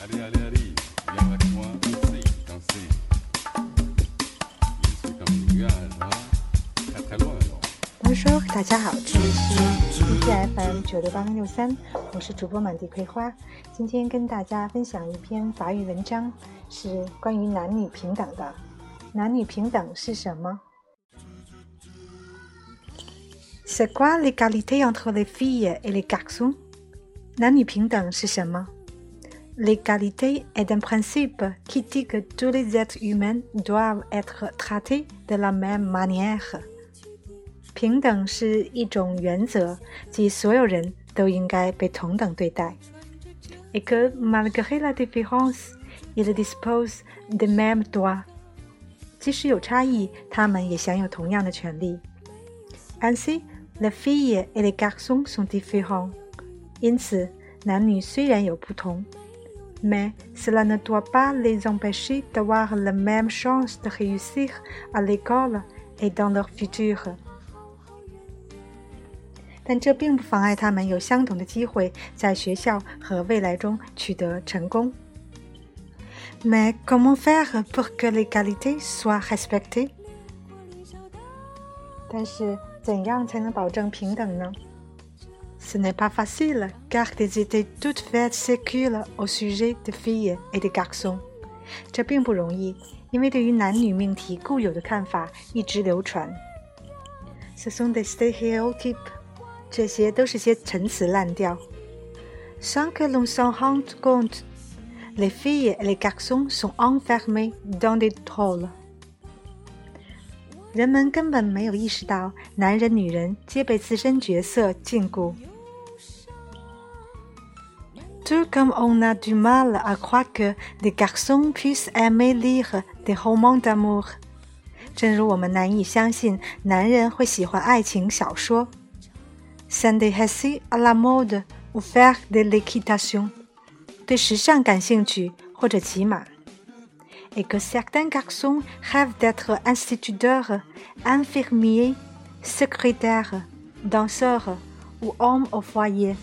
Allez, allez, allez, viens avec moi, danser, danser. Je suis comme une nuage, hein? Très très loin alors. Bonjour，大家好，这里是 ETFM 96863，我是主播满地葵花。今天跟大家分享一篇法语文章，是关于男女平等的。男女平等是什么？ C'est quoi l'égalité entre les filles et les garçons？ 男女平等是什么？ L'égalité est un principe qui dit que tous les êtres humains doivent être traités de la même manière。 平等是一种原则，即所有人都应该被同等对待。Et que malgré la différence, ils disposent des mêmes droits。 即使有差异，他们也享有同样的权利。Ainsi, les filles et les garçons sont différents。 因此，男女虽然有不同， mais cela ne doit pas les empêcher d'avoir la même chance de réussir à l'école et dans leur futur。 但这并不妨碍他们有相同的机会在学校和未来中取得成功。 Mais comment faire pour que l'égalité soit respectée？ 但是怎样才能保证平等呢？ Ce n'est pas facile, car des idées toutes faites circulent au sujet des filles et des garçons。 这并不容易，因为对于男女命题固有的看法一直流传。 Ce sont des stéréotypes。 这些都是些陈词滥调。 Sans que l'on s'en rende compte, les filles et les garçons sont enfermés dans des rôles。 人们根本没有意识到，男人女人皆被自身角色禁锢。 Tout comme on a du mal à croire que les garçons puissent aimer lire des romans d'amour。 正如我们难以相信男人会喜欢爱情小说。 S'intéresser à la mode ou faire de l'équitation， 对时尚感兴趣或者骑马。 Et que certains garçons rêvent d'être instituteurs, infirmiers, secrétaires, danseurs ou hommes au foyer。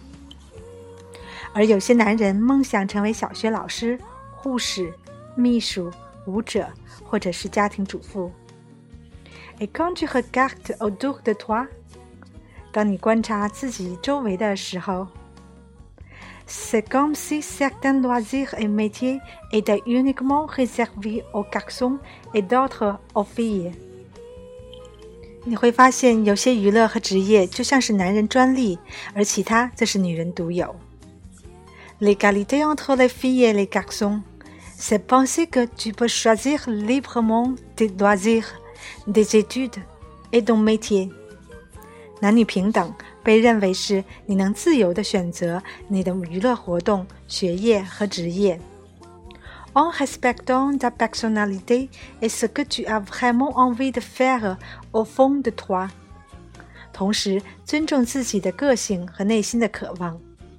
而有些男人梦想成为小学老师、护士、秘书、舞者或者是家庭主妇。 Et quand tu regardes autour de toi， 当你观察自己周围的时候， C'est comme si certains loisirs et métiers étaient uniquement réservés aux garçons et d'autres aux filles。 你会发现有些娱乐和职业就像是男人专利，而其他则是女人独有。 L'égalité entre les filles et les garçons, c'est penser que tu peux choisir librement tes loisirs, des études et ton métier。 男女平等被认为是你能自由地选择你的娱乐活动、学业和职业。 En respectant ta personnalité et ce que tu as vraiment envie de faire au fond de toi。 同时尊重自己的个性和内心的渴望。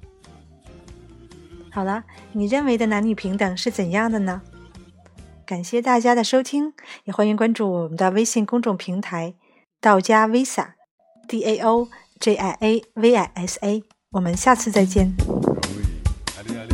好了，你认为的男女平等是怎样的呢？感谢大家的收听，也欢迎关注我们的微信公众平台道家 Visa DAOJIAVISA， 我们下次再见。 Oui, allez, allez.